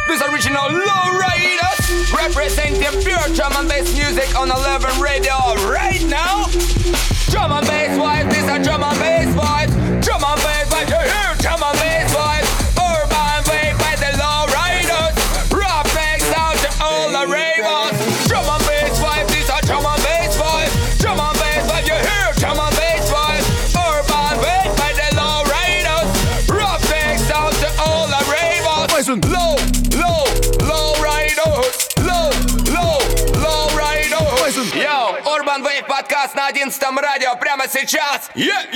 This original Lowriders representing pure drum and bass music on 11 radio right now. Drum and bass vibe, this a drum and bass vibe. Drum and bass vibe, you hear drum and bass vibe. Urban wave by the Lowriders. Rock makes out to all the ravers. Drum and bass vibe, this a drum and bass vibe. Drum and bass vibe, you hear drum and bass vibe. Urban wave by the Lowriders. Rock makes out to all the ravers. Listen, low riders. Low riders. Listen, yo, Urban Wave подкаст на 11-м радио прямо сейчас.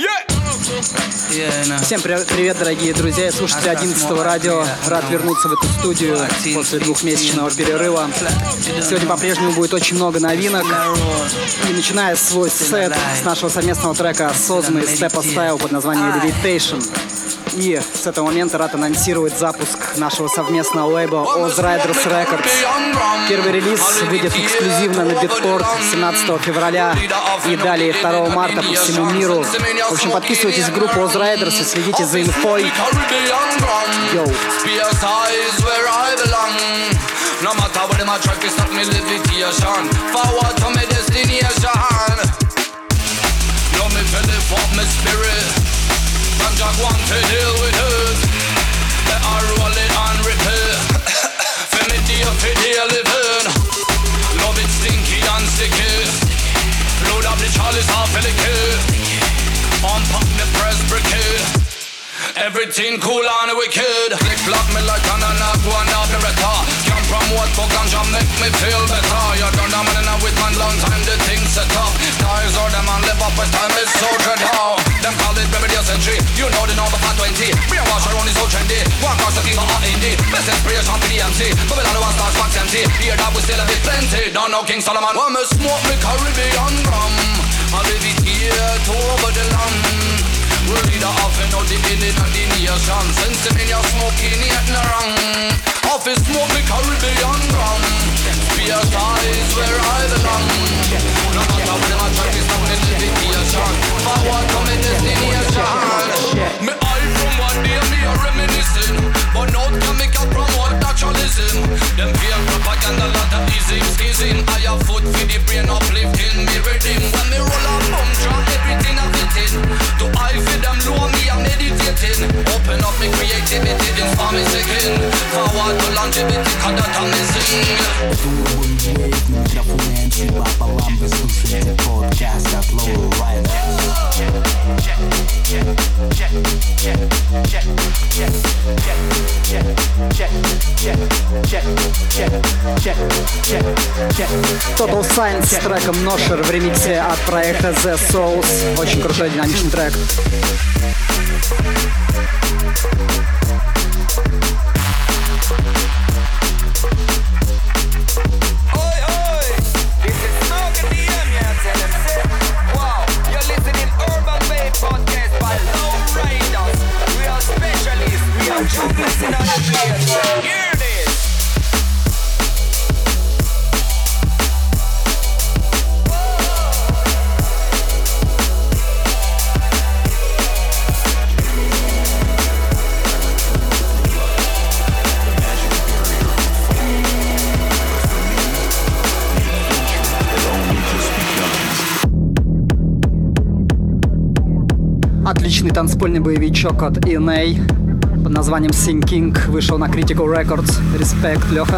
Всем привет, дорогие друзья и слушатели 11-го радио. Рад вернуться в эту студию после двухмесячного перерыва. Сегодня по-прежнему будет очень много новинок. И начиная свой сет с нашего совместного трека Sozma и Steppa Style под названием Levitation. И с этого момента рад анонсировать запуск нашего совместного лейбла Oz Riders Records. Первый релиз выйдет эксклюзивно на Beatport 17 февраля и далее 2 марта по всему миру. В общем, подписывайтесь в группу Oz Riders и следите за инфой. Йоу. And Jack want to deal with it. Let her roll it and repair. For me dear, for dear living. Love it stinky and sticky. Load up the chalice half of the key. Unpack the press briquet. Everything cool and wicked. Click lock me like an one of the record. Come from what for ganja make me feel better. You done a man in with man long time the things set up. Guys or them and live up with time is so dread how. Them call it baby the century. You know the number 520. Brainwash around is so trendy. One cause the thing for indie. Best inspiration for the MC. But we don't want stars box empty. Here that we still have it plenty. Don't know King Solomon. Want me smoke me Caribbean rum. I live it here to over the land. We'll lead off and out the beginning of the nation. Since them in your smoking yet no wrong. Office smoke the Caribbean rum. Fear size where I belong. No matter what them a try to stop me levitation. Forward to me destination. Me eye from one day me a reminiscing. But now can make a promote naturalism. Them fear propaganda lot of easy skizing. I have foot for the brain uplifting. Me redeem when me roll a bum track everything I fit in. To I feel them low me I'm meditating. Open up me creativity inspire me second. Forward to longevity cause that I'm missing. Микрофоны Анчиба пополам. Вы слушаете подкаст от Low Riders. Total Science с треком Nosher в ремиксе от проекта The Souls. Очень крутой динамичный трек. Отличный танцпольный боевичок от ENA под названием Sing King вышел на Critical Records. Респект, Леха.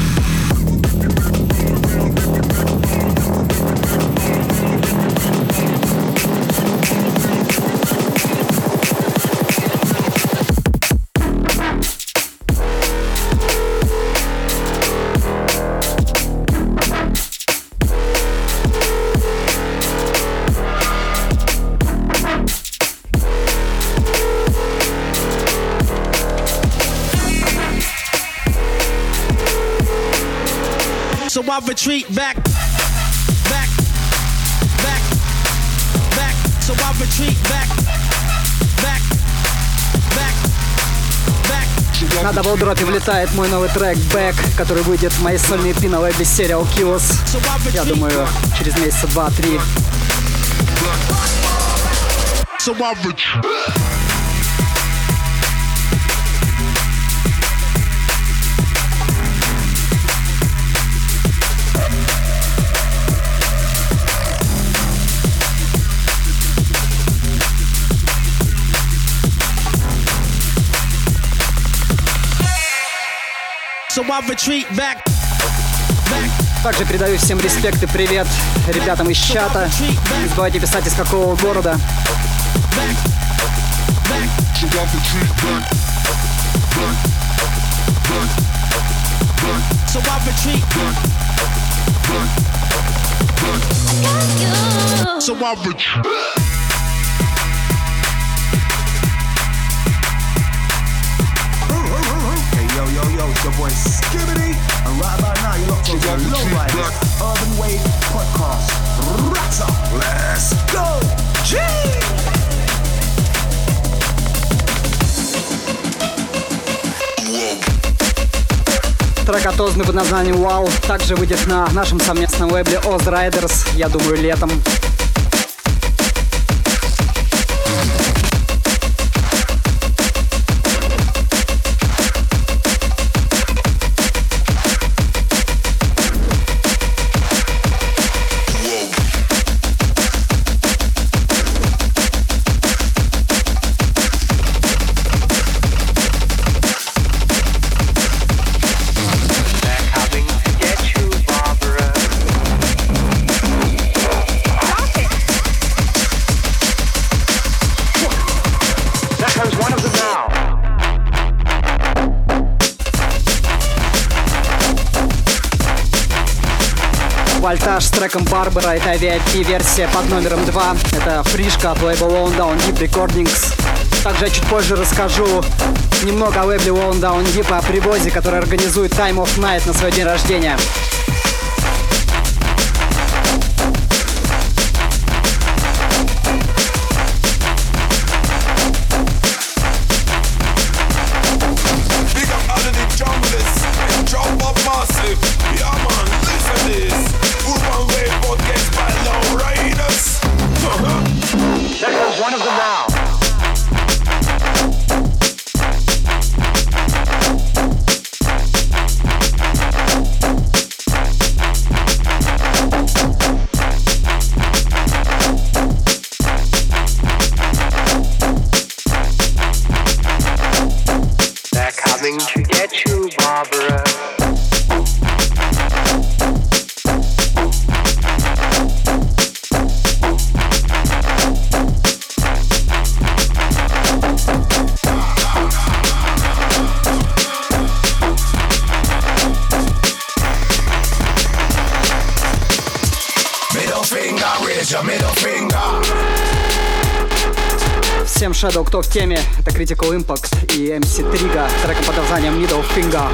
So I retreat back. So I retreat back. На даблдропе влетает мой новый трек Back, который выйдет в моей сольной EP на лейбле Serial Kills. Я думаю, через месяца 2-3. So I retreat back. Также передаю всем респект и привет ребятам из чата. Не забывайте писать, из какого города. So I retreat. So I retreat. Yo, it's your boy Skibbity, and right about now you're locked onto the Lowriders Urban Wave Podcast. Rats up, let's go! G! Трек отозванный под названием «Wow» также выйдет на нашем совместном лейбле Oz Riders, я думаю, летом. Вольтаж с треком Барбара, это VIP-версия под номером 2. Это фришка от лейбла Lone Down Deep Recordings. Также я чуть позже расскажу немного о лейбле Lone Down Deep, о привозе, который организует Time of Night на свой день рождения. To get you, Barbara. Middle finger, raise your middle finger. Всем Shadow, кто в теме, это Critical Impact и MC Triga с треком под названием Middle Finger.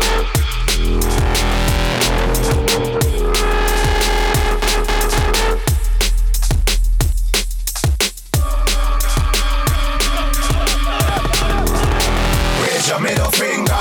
Raise your middle finger.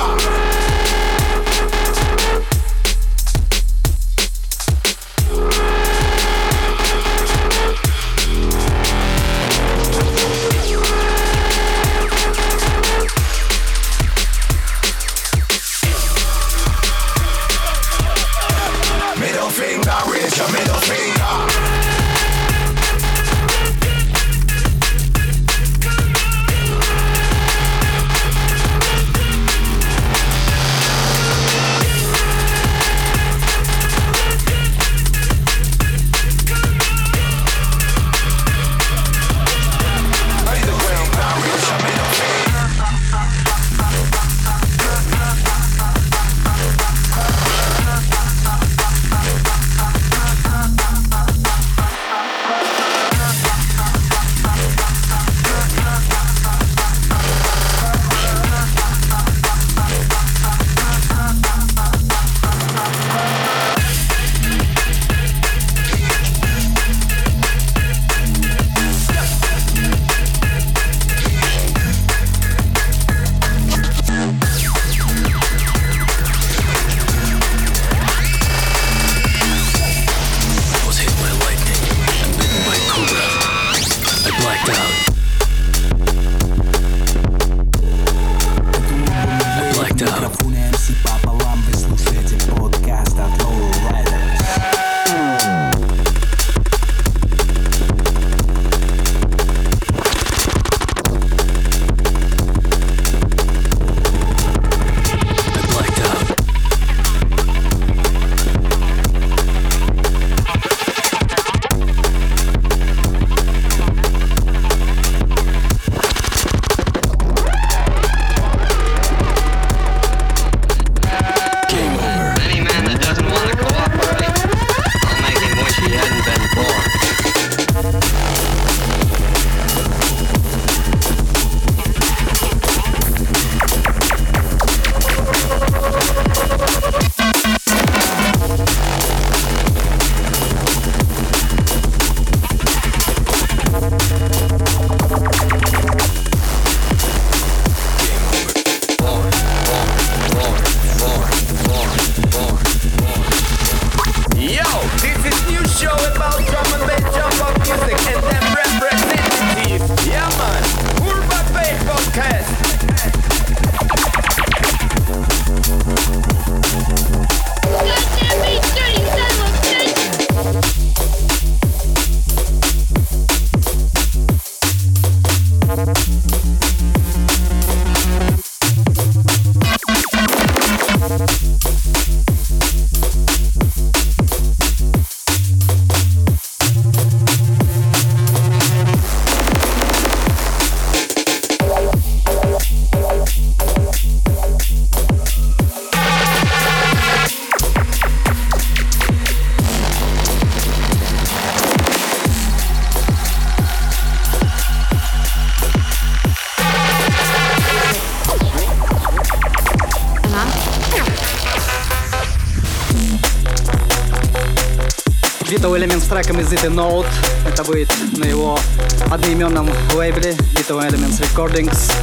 Vito Elements с треком из It Note. Это будет на его одноименном лейбле Vito Elements Recordings.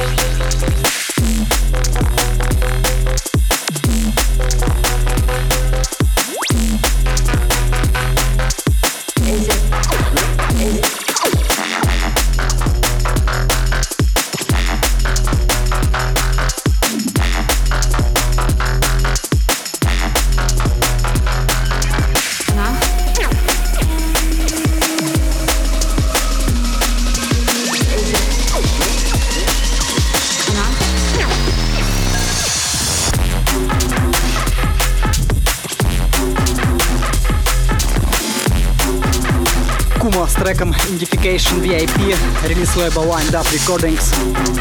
С треком Indification VIP, релиз лейбла Wind Up Recordings.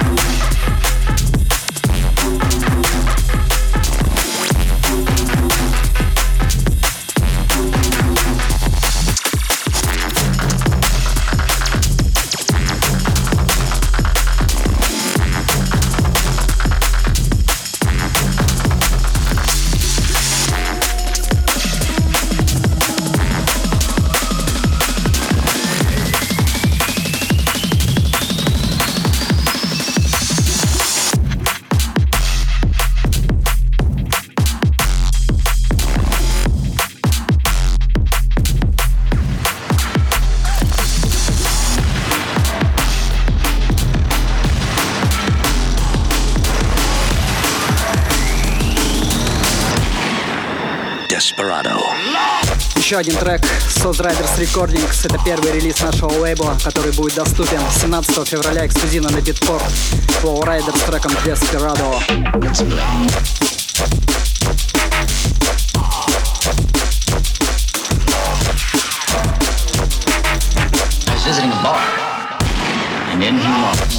Еще один трек Soz Riders Recordings. Это первый релиз нашего лейбла, который будет доступен 17 февраля эксклюзивно на Beatport. Flow Rider с треком Desperado. I was visiting a bar, and in he walked.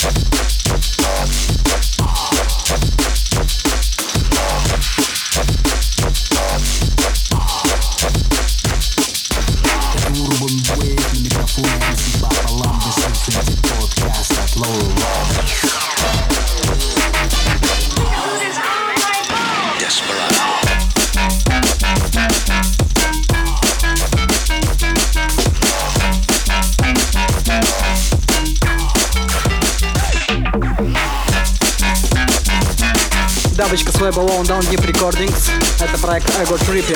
Дабочка с лейбла Lone Down Deep Recordings. Это проект Ego Trippin.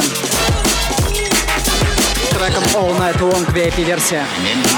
С треком All Night Long VIP-версия.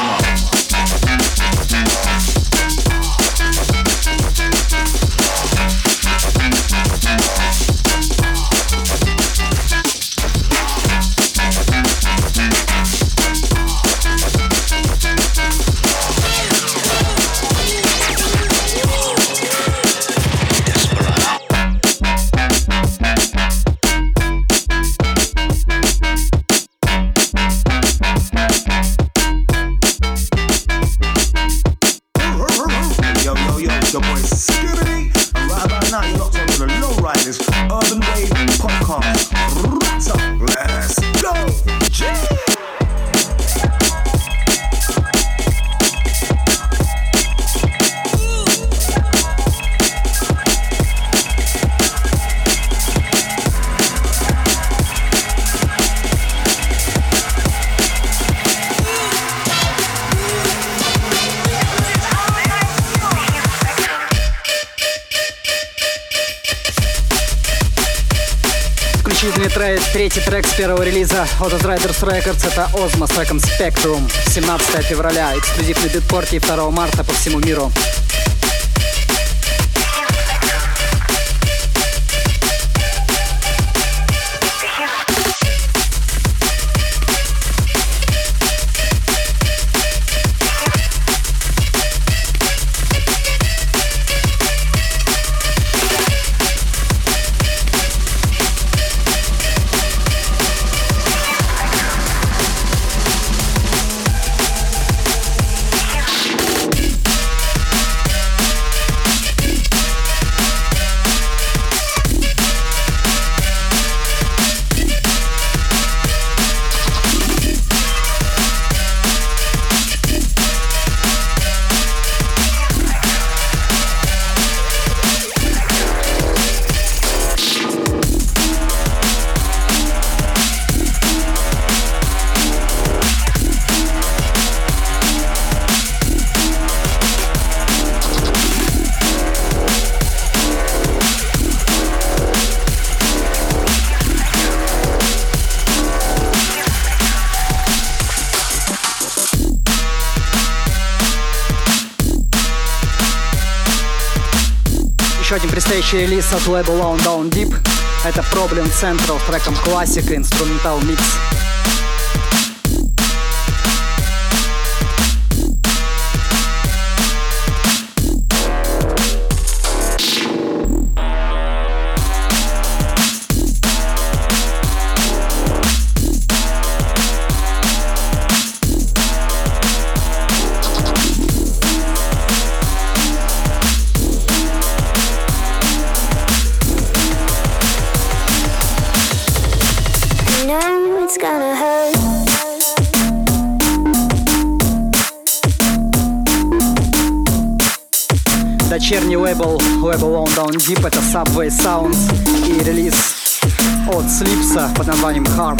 Третий трек с первого релиза от Soz Riders Records — это Ozma с треком Spectrum. 17 февраля, эксклюзив на Битпорте, и 2 марта по всему миру. предстоящий релиз от лейбла Low Down Deep. Это Problem Central с треком классика, инструментал микс. Дочерний лейбл Low Down Deep — это Subway Sounds и релиз от Slipsa под названием Harm.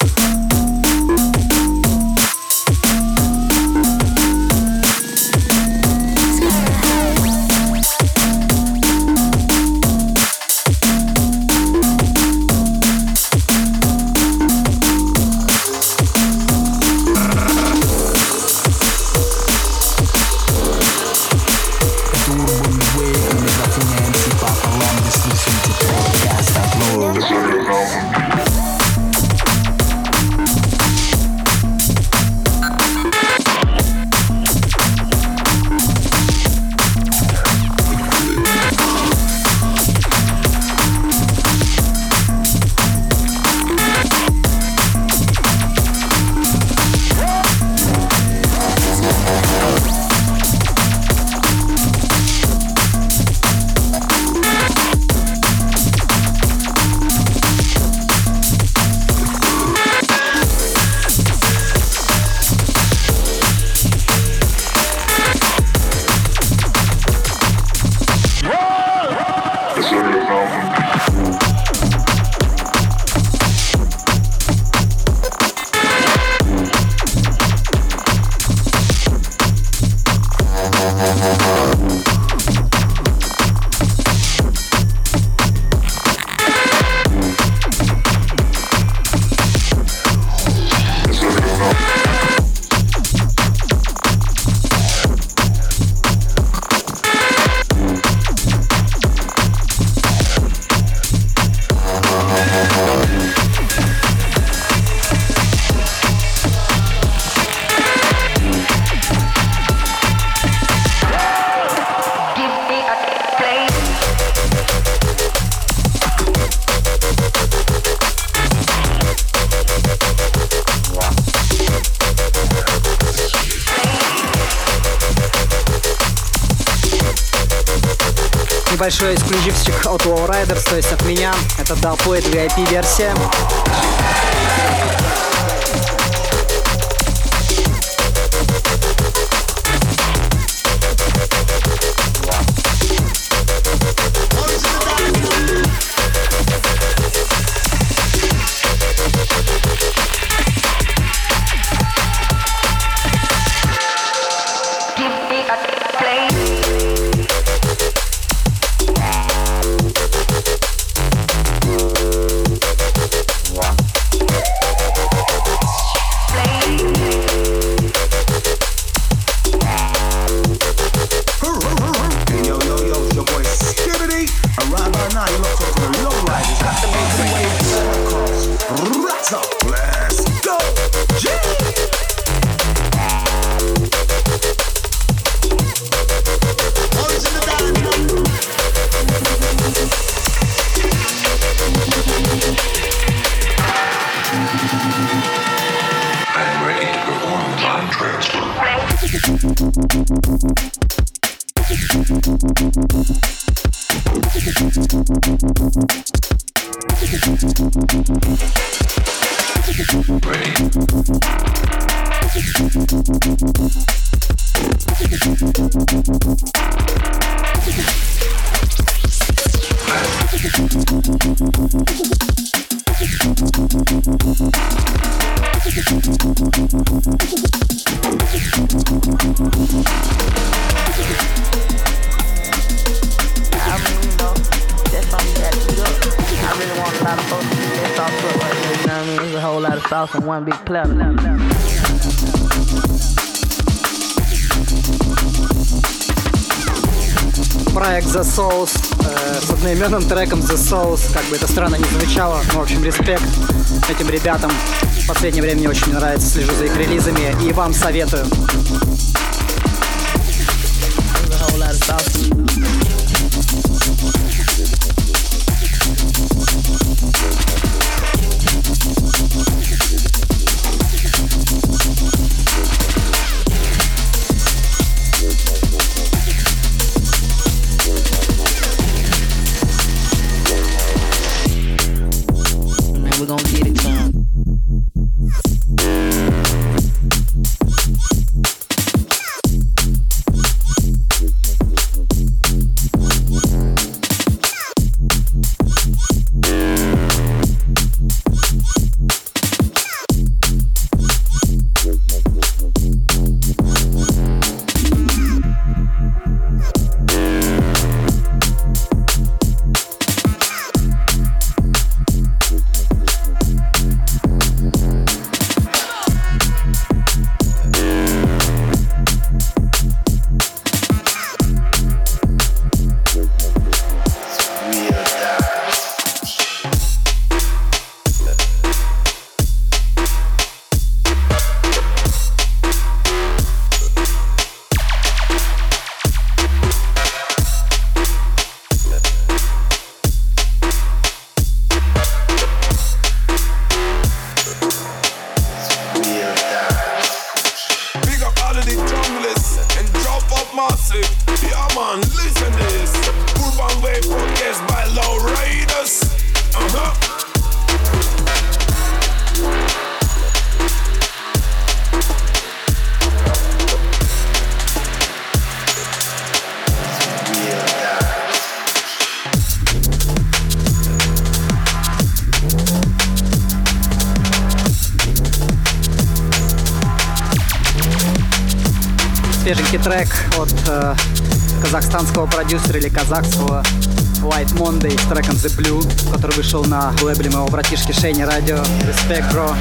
Небольшой эксклюзивчик от Low Riders, то есть от меня. Это Dubplate VIP-версия. From one big platter. проект The Souls с одноименным треком The Souls. Как бы это странно не звучало, но, в общем, респект этим ребятам. В последнее время мне очень нравится, слежу за их релизами и вам советую. We're gonna get it to 'em. Свеженький трек от казахстанского продюсера или казахского White Monday с треком The Blue, который вышел на лейбле моего братишки Шейни Радио. Respect, bro.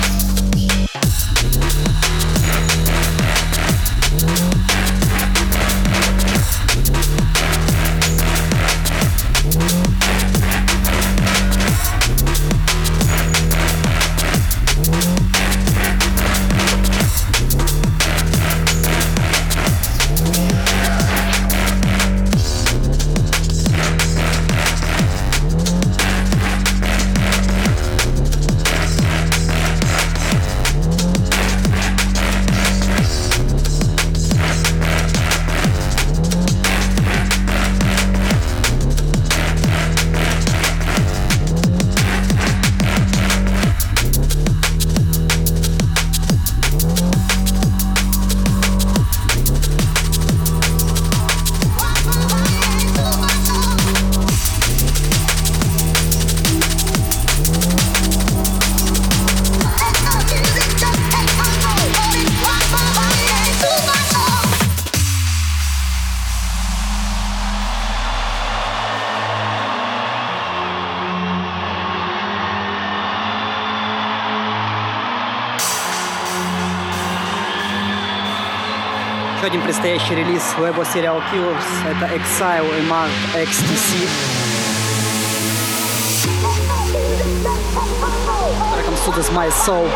Еще один предстоящий релиз лейбла Serial Killers — это Exile и Mark XTC. Треком Soothes My Soul.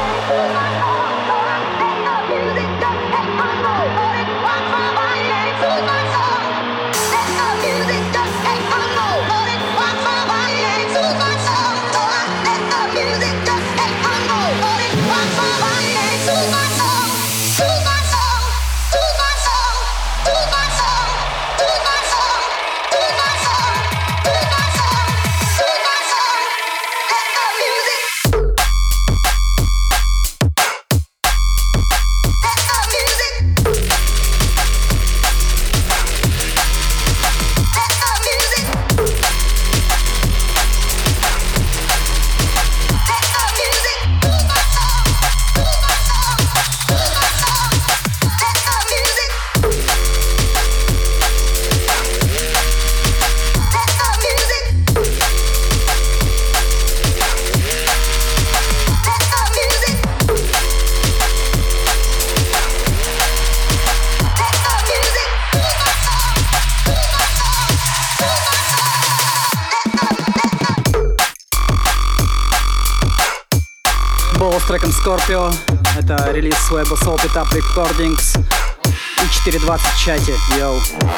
Бомбово с треком Scorpio. Это релиз с лейбла Soul Pit Up Recordings. И 4.20 в чате. Йоу.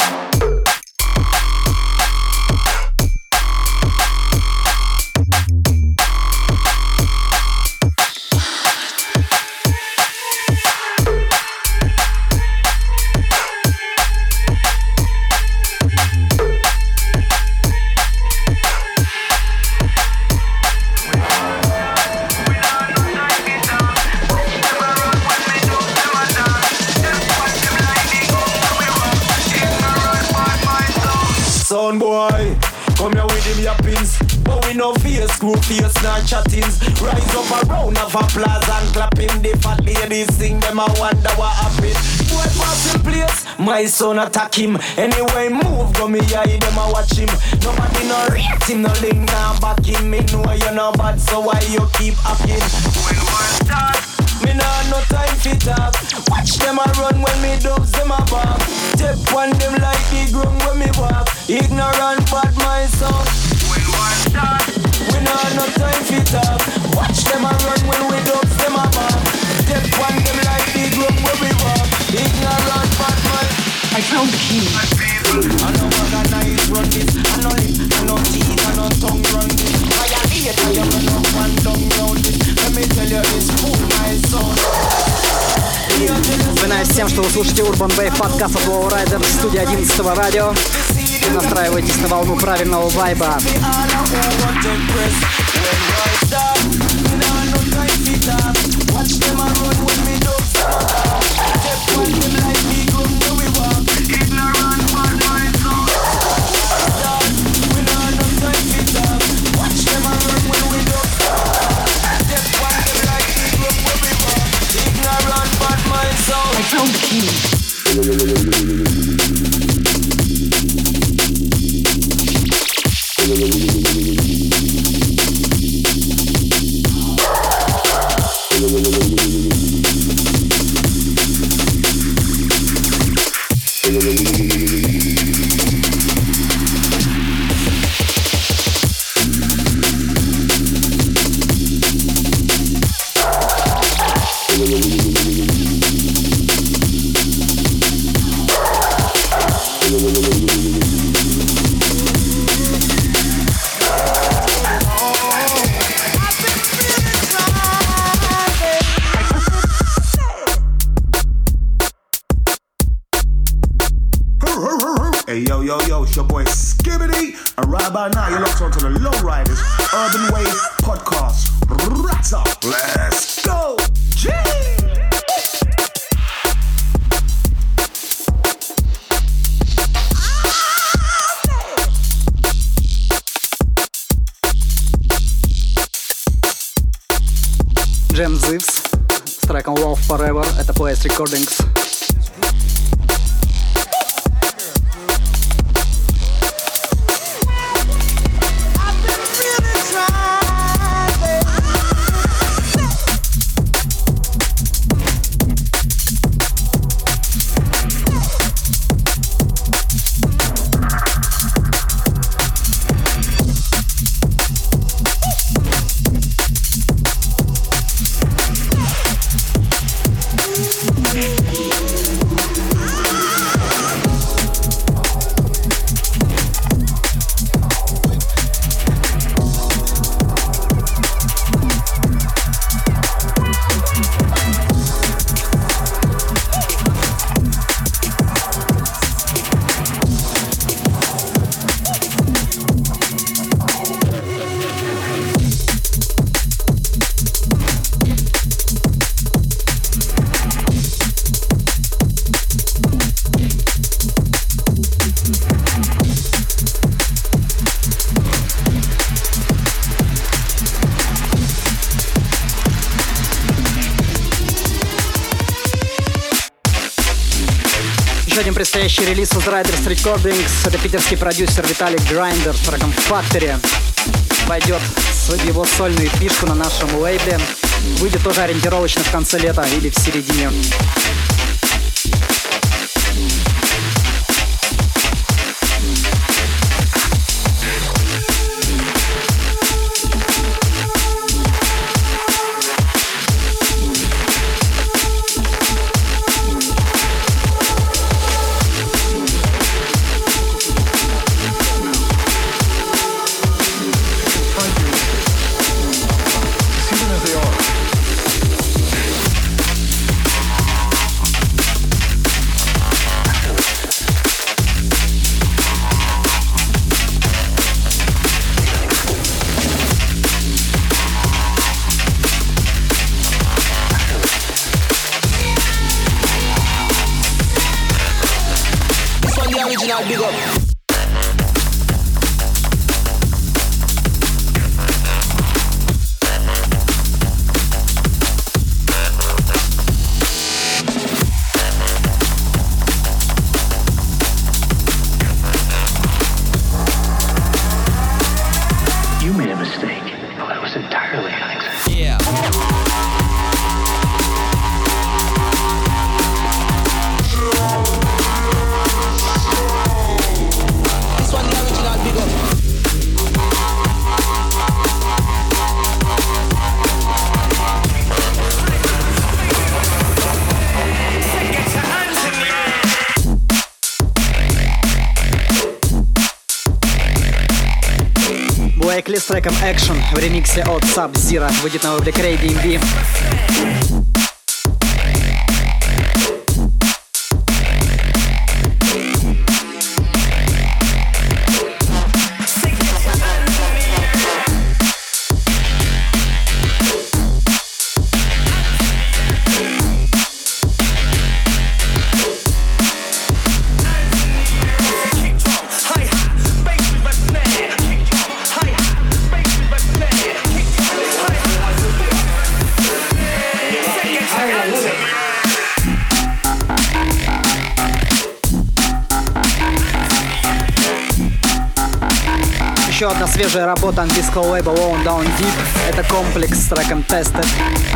Son boy, come here with him your pins. But we no fear screw face nor chattings. Rise up a round of applause and clapping. The fat ladies sing them a wonder what happened. Boy pass in place, my son attack him. Anyway move, go me eye them a watch him. Nobody no rate him, no link now back him. Me know you no bad, so why you keep acting? When war start, me nah no time for talk. Watch them a run when me dubs them a bark. Step on them like the ground when me walk. Ignorant bad my son. When war start, we nah no time for talk. Watch them a run when we dubs them a bark. Step on them like the ground when we walk. Ignorant bad my. I found the key. I know organize run this. I know lip, I know teeth, I know tongue run this. I am no one down round this. Let me tell you this, cool my son. Напоминаю всем, что вы слушаете Urban Wave подкаст от Low Rider в студии 11 радио. И настраивайтесь на волну правильного вайба. I found the key. Hey yo, it's your boy Skibbity, and right about now you're locked onto the Lowriders Urban Wave Podcast. Rats up, let's go! G! Джем Зивс с треком Love Forever. Это Place Recordings. Еще один предстоящий релиз из Riders Recordings. Это питерский продюсер Виталик Грайндер с треком Factory. Войдет в его сольную пишку на нашем лейбле. Выйдет тоже ориентировочно в конце лета или в середине. Блейкли с треком Action в ремиксе от Sub-Zero. Выйдет на облик Ray DMV. Еще одна свежая работа английского лейбла Low Down Deep. Это комплекс с треком Tested.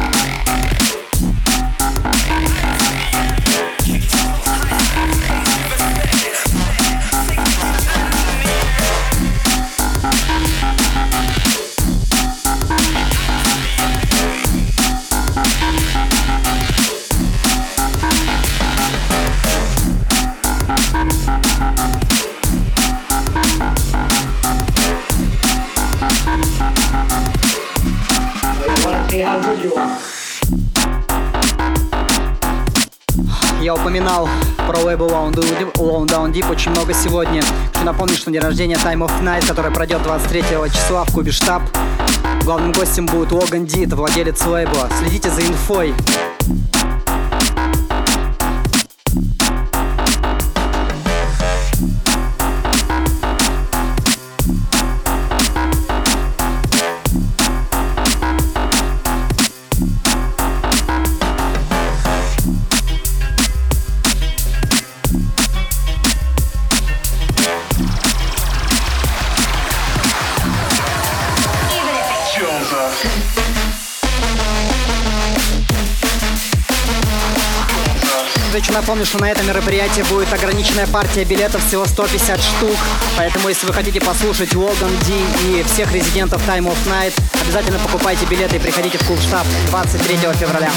Я упоминал про лейбл Low Down Deep очень много сегодня. Хочу напомнить, что день рождения Time of Night, который пройдет 23 числа в клубе Штаб. Главным гостем будет Логан Ди, это владелец лейбла. Следите за инфой. Хочу напомнить, что на этом мероприятии будет ограниченная партия билетов, всего 150 штук. Поэтому, если вы хотите послушать Логан Ди и всех резидентов Time of Night, обязательно покупайте билеты и приходите в клуб Штаб 23 февраля.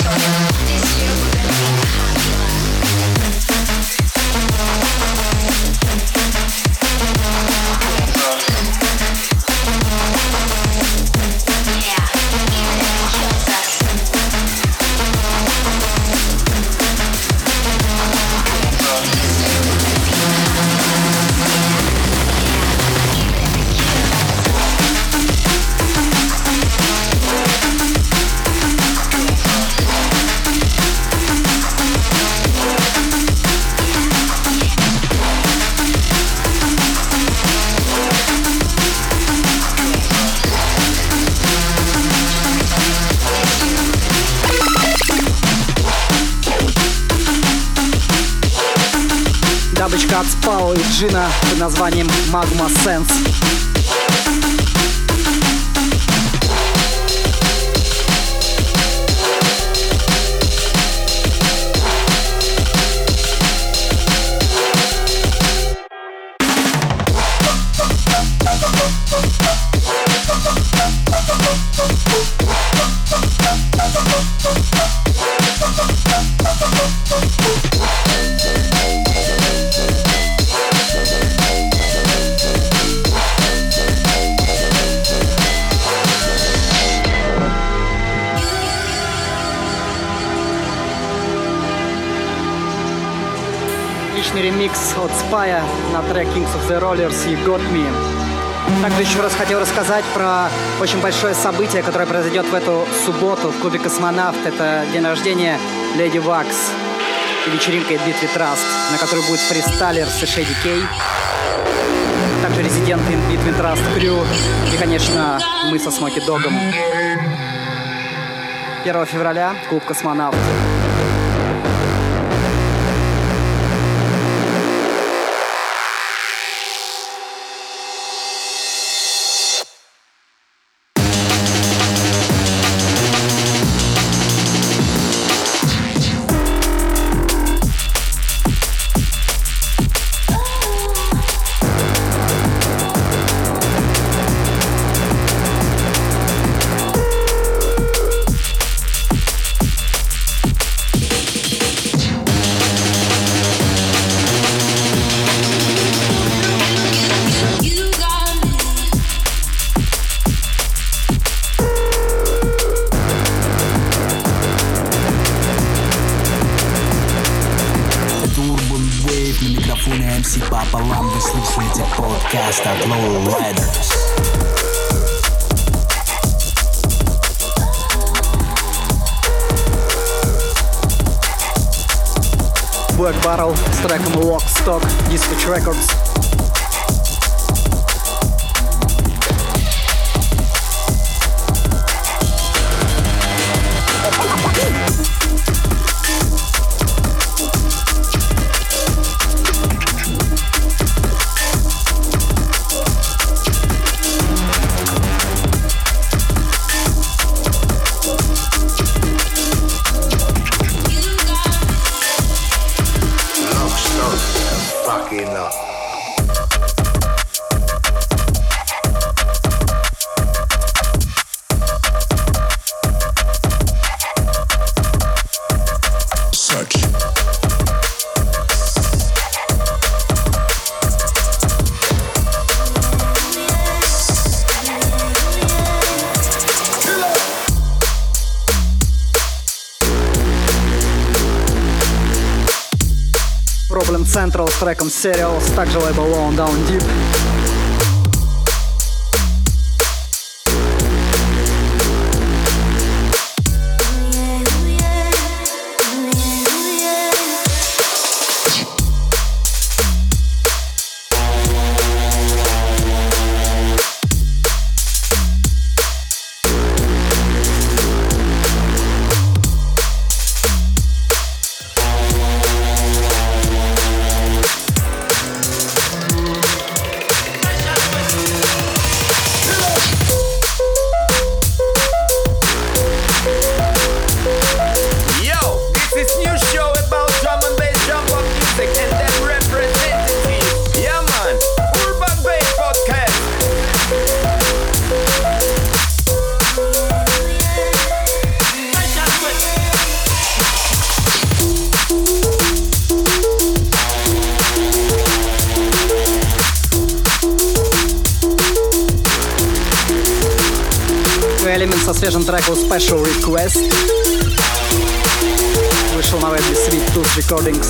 Дабочка от Спао и Джина под названием Magma Sense. Ремикс от Spaya на трек Kings of the Rollers и Got Me. Также еще раз хотел рассказать про очень большое событие, которое произойдет в эту субботу в клубе «Космонавт». Это день рождения Леди Вакс и вечеринка Beat with Trust, на которой будет фристайлер с Shady K, также резиденты Beat with Trust Crew и, конечно, мы со Смоки Догом. 1 февраля клуб «Космонавт». пополам, вы слушаете подкаст от Low Riders. Black Barrel с треком Lock Stock, Dispatch Records. Problem Central с треком Serials, также лейбл Low Down Deep. Элемент со свежим треком Special Request вышел на лейбле Sweet Tooth Recordings.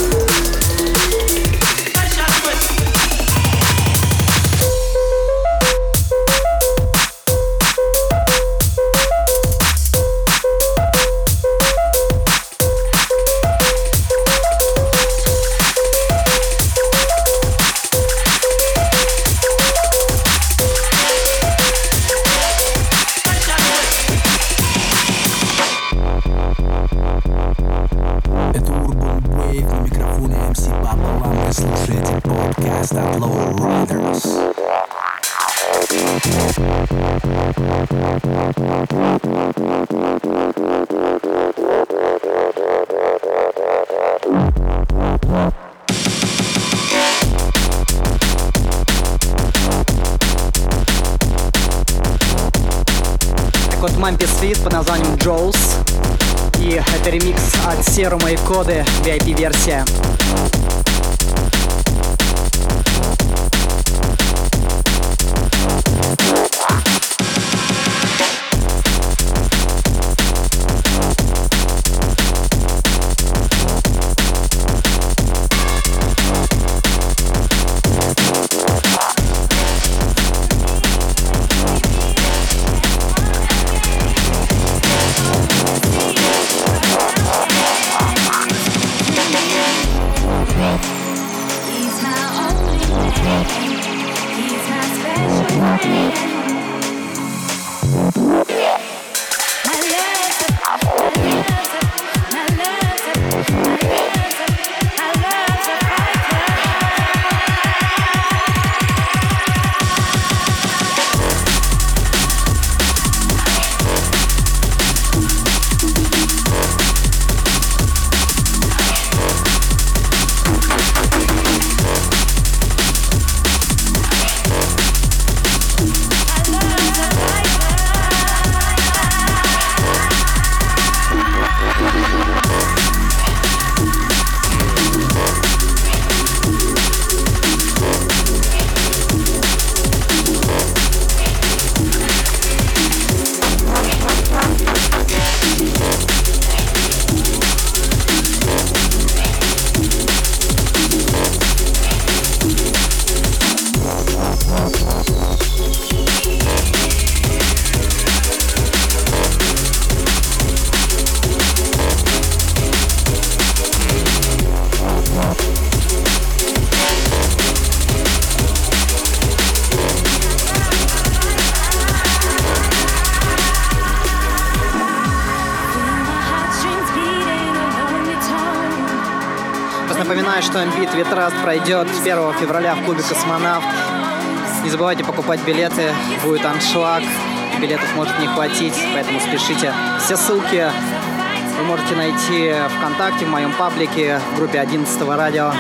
От Мампи Свит под названием Джоус. И это ремикс от Серума и Коды, VIP-версия. Напоминаю, что Beat with Trust пройдет 1 февраля в клубе «Космонавт». Не забывайте покупать билеты, будет аншлаг, билетов может не хватить, поэтому спешите. Все ссылки вы можете найти ВКонтакте, в моем паблике, в группе 11-го радио.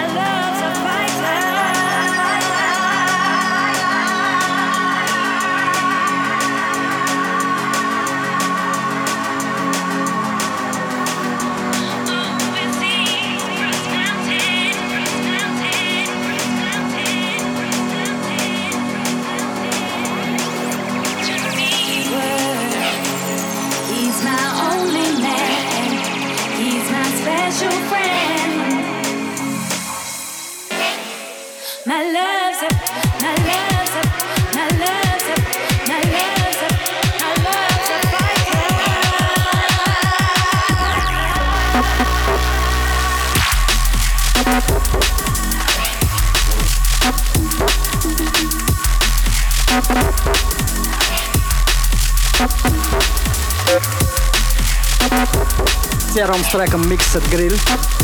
Серым с треком Mixed Grill.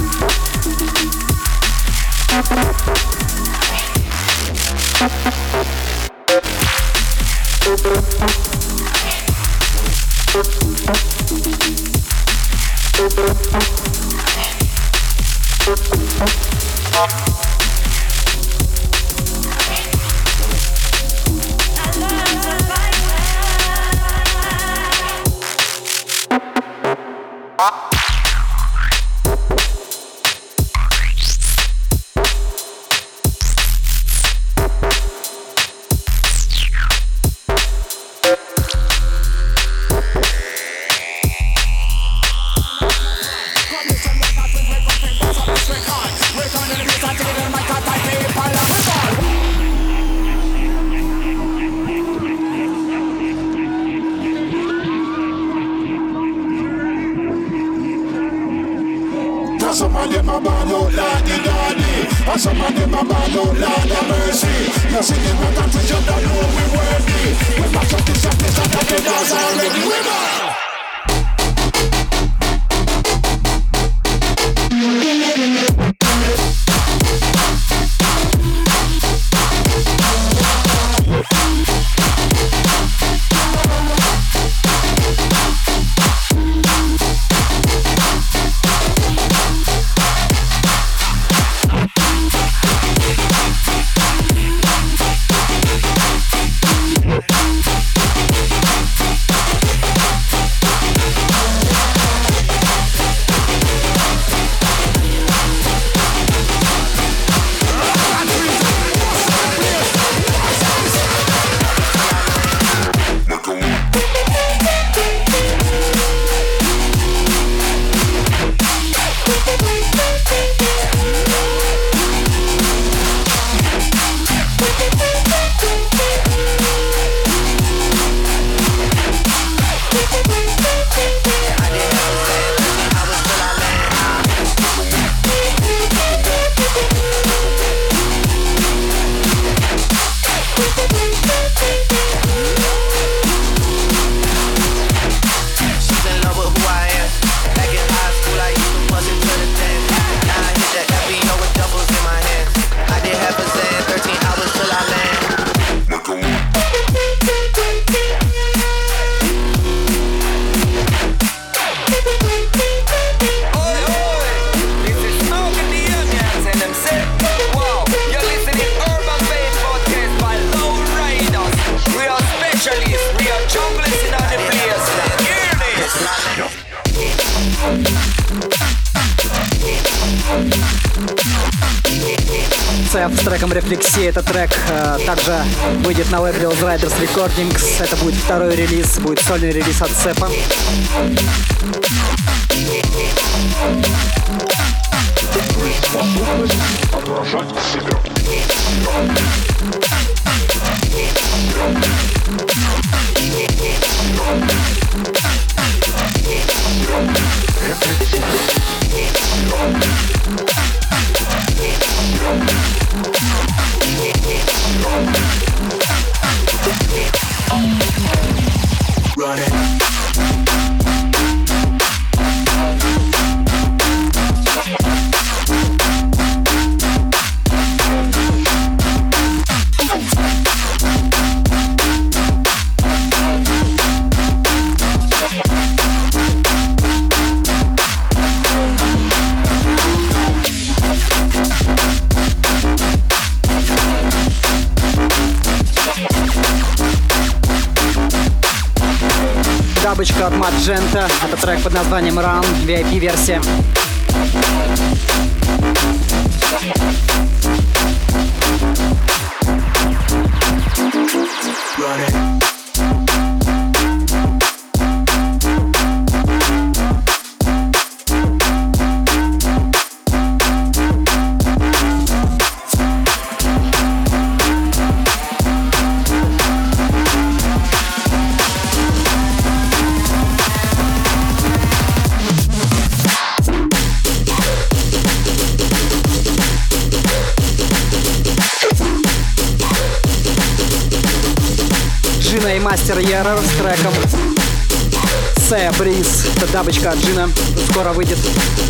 С треком «Рефлексия». Этот трек также выйдет на лейбле Oz Riders Recordings. Это будет второй релиз, будет сольный релиз от Цепа. Дабочка от Magenta. Это трек под названием Run, VIP-версия. Джина и Мастер Еррор с треком Sea Breeze. Это дабочка от Джина. Скоро выйдет.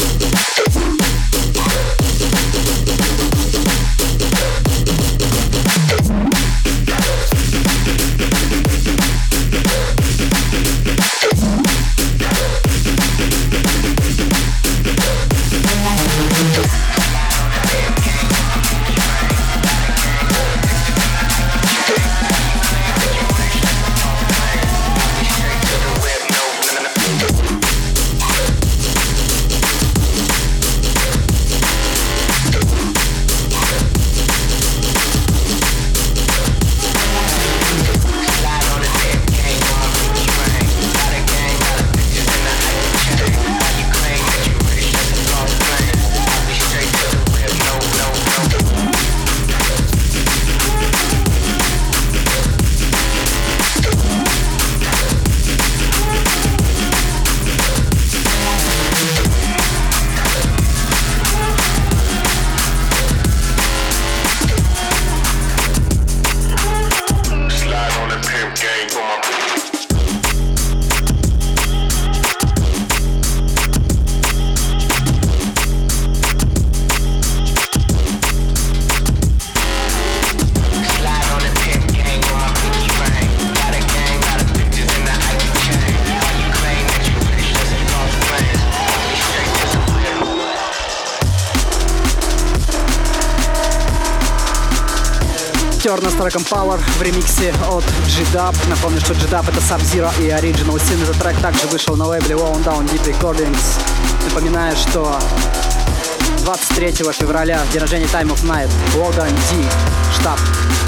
Терна с треком Power в ремиксе от G-Dub. Напомню, что G-Dub — это Sub-Zero и Original Sin. Этот трек также вышел на лейбле Wound Down Deep Recordings. Напоминаю, что 23 февраля день рождения Time of Night. Логан Ди, штаб.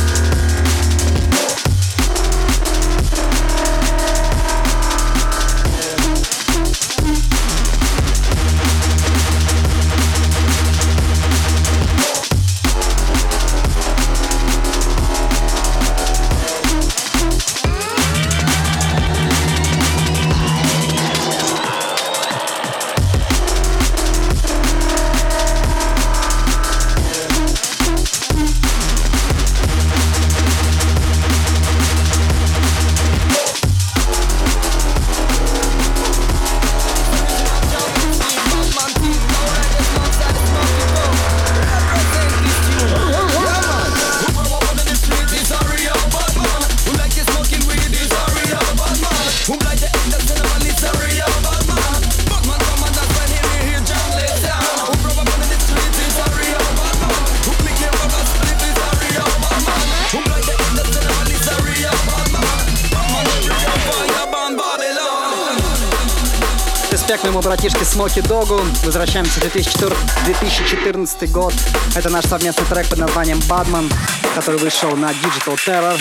Респект моему братишке Смоки Догу. Возвращаемся в 2014 год. Это наш совместный трек под названием Badman, который вышел на Digital Terror.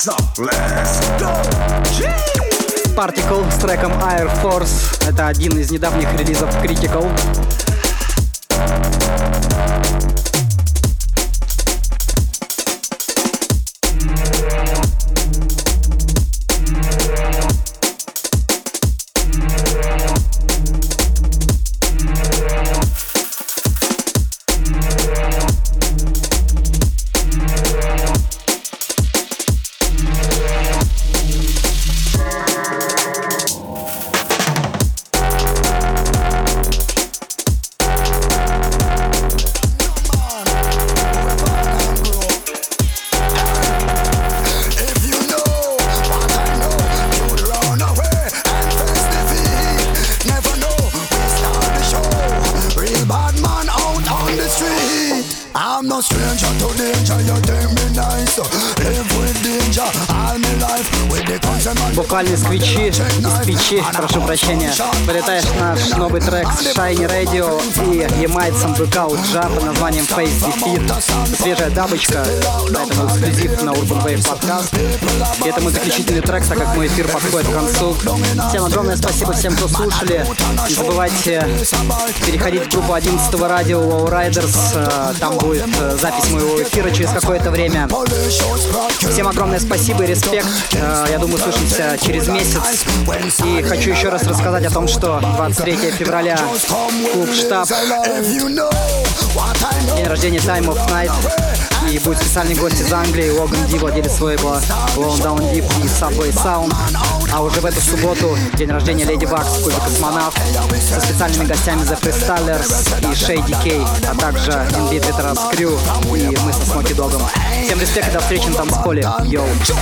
Particle с треком Air Force. Это один из недавних релизов Critical. Буквально сквичи, прошу прощения. Полетаешь наш новый трек с Shiny Radio и Ямайцем Breakout Jar под названием Face Defeat. Свежая дабочка, поэтому эксклюзив на Urban Wave Podcast. И это мой заключительный трек, так как мой эфир подходит к концу. Всем огромное спасибо всем, кто слушали. Не забывайте переходить в группу 11-го радио Wow Riders. Там будет запись моего эфира через какое-то время. Всем огромное спасибо и респект. Я думаю, услышимся через месяц. И хочу еще раз рассказать о том, что 23 февраля клуб «Штаб», день рождения Time of Night. И будет специальный гость из Англии, Логан Ди, владелец своего Blown Down Deep и Subway Sound. А уже в эту субботу день рождения Леди Баг в клубе «Космонавт» со специальными гостями The Freestylers и Shady K, а также Inbeat Veterans Crew и мы со Смоки Догом. Всем респект и до встречи на танцполе. Йоу!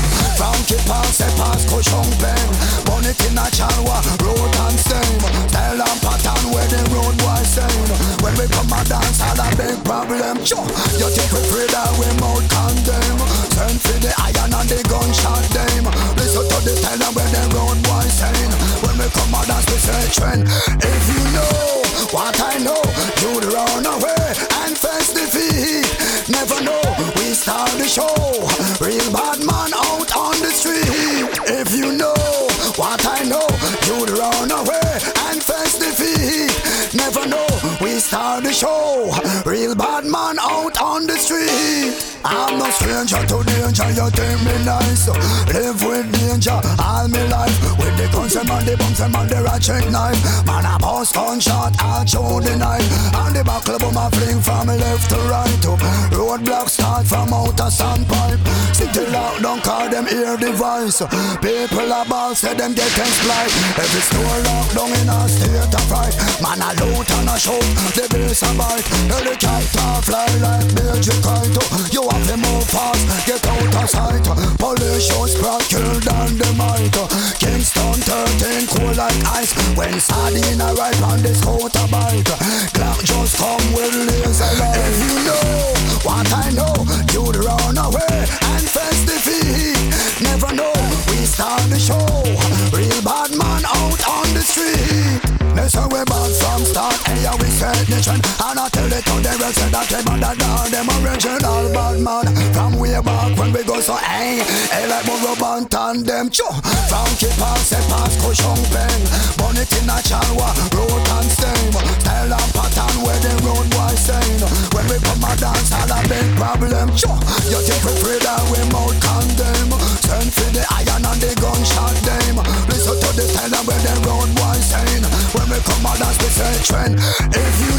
We mouth condemn. Send for the iron and the gunshot them. Listen to the tell them where the road boys saying. When we come out dance we say trend. If you know what I know, you'd run away and face defeat. Never know, we start the show. Real bad man out on the street. If you know what I know, you'd run away and face defeat. Never know, we start the show. Real bad man out on the street. I'm no stranger to danger, you think me nice. Live with danger all my life. With the guns and the bombs and the ratchet knife. Man, I boss gunshot all through the night. And the buckle boom I fling from left to right. Roadblock start from outer sandpipe. City lockdown call them ear device. People are balls say them getting splice. Every store locked down in a state of fright. Man, I loot and I shoot, the bills a bite. Helicopter fly like Belgian kite. You have to move fast, get out of sight. Police show sprout, kill down the might. Kingston 13, cool like ice. When sardine arrive on the scooter bike. Clock just come with laser light. If you know what I know, you'd run away and face defeat. Never know, we start the show. Real bad man out on the street. They say we bad from start, hey, we set the trend. And I tell it to the rest of that they better than them original bad man. From way back when we go so hey, like more rubber and them choo. From keep on set past cushion pen. Burn it in a chalwa, road and stain. Style and pattern where the road boys saying. When we come a dance all a big problem choo. You think we free that we mouth condemn. Send for the iron and the gunshot them. Listen to the style and where the road boys saying. When we come a dance we say trend. If you